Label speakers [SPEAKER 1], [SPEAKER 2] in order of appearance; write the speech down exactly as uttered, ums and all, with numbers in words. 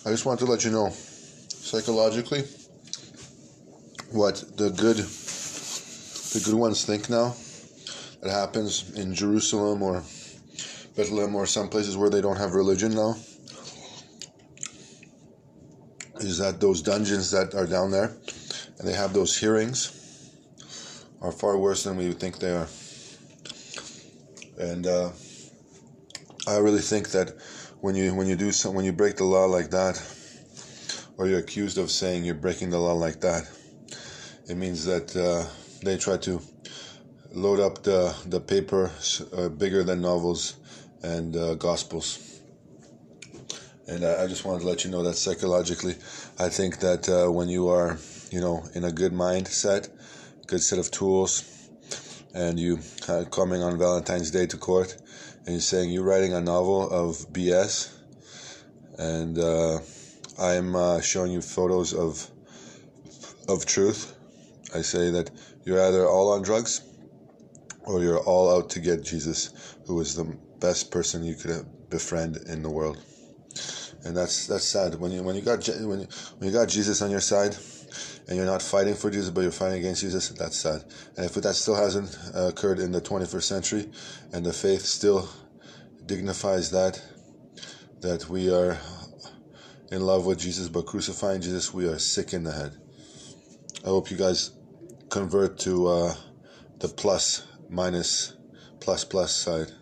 [SPEAKER 1] I just want to let you know, psychologically, what the good, the good ones think now. That happens in Jerusalem or Bethlehem or some places where they don't have religion now. Is that those dungeons that are down there, and they have those hearings, are far worse than we would think they are. And uh, I really think that when you when you do some, when you break the law like that, or you're accused of saying you're breaking the law like that, it means that uh, they try to load up the the paper uh, bigger than novels and uh, gospels. And I, I just wanted to let you know that psychologically, I think that uh, when you are, you know, in a good mindset, good set of tools, and you uh, coming on Valentine's Day to court, and you're saying you're writing a novel of B S, and uh, I'm uh, showing you photos of of truth. I say that you're either all on drugs, or you're all out to get Jesus, who is the best person you could befriend in the world. And that's that's sad. When you when you got when you, when you got Jesus on your side, and you're not fighting for Jesus, but you're fighting against Jesus, that's sad. And if that still hasn't uh, occurred in the twenty-first century, and the faith still dignifies that, that we are in love with Jesus but crucifying Jesus, we are sick in the head. I hope you guys convert to uh, the plus, minus, plus, plus side.